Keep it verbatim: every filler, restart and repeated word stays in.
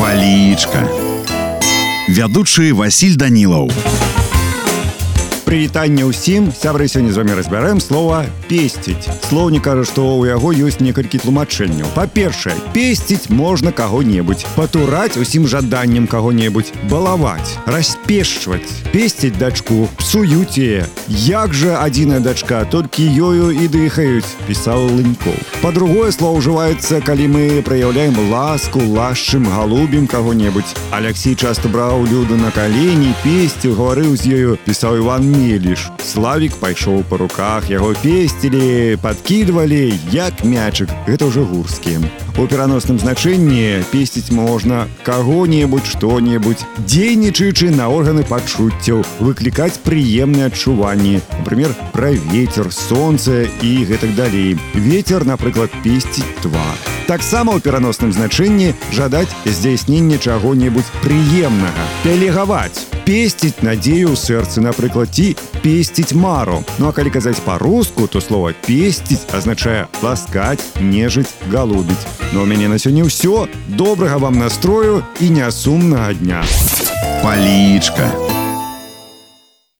Палічка. Вядучы Васіль Данілаў. Прывітанне ўсім, сябры, сёння з вамі разбярэм слова «песціць». Слоўнік кажа, што ў яго ёсць некалькі тлумачэнняў. Па-першае, песціць можна каго-небудзь, патураць усім жаданнем каго-небудзь, балаваць, распешчваць, песціць дачку, псуюць яе. Як жа адзіная дачка, толькі ёю і дыхаюць, пісаў Лынькоў. Па-другое, слово ўжываецца, калі мы праяўляем ласку, лашчым, галубім каго-небудзь. Аляксій часта браў Люду на калені, песціў, гаварыў з ёю, пісаў Іван Меліш. Славік пайшоў па руках, яго песцілі, падкідвалі, як мячык. Гэта ўжо гурскія. У пераносным значэнні песціць можна каго-небудзь, што-небудзь, дзейнічаючы на органы пачуццяў, выклікаць прыемныя адчуванні. Например, пра вецер, сонца і гэтак далей. Вецер, напрыклад, песціць твар. Таксама ў пераносным значэнні жадаць здзяйснення чаго-небудзь прыемнага, пелегаваць, песціць надзею ў сэрцы, напрыклад, ці песціць мару. Ну а калі казаць па-руску, то слова «песціць» азначае ласкаць, нежыць, галубіць. Ну а ў мяне на сёння ўсё. Добрага вам настрою і нясумнага дня. Палічка.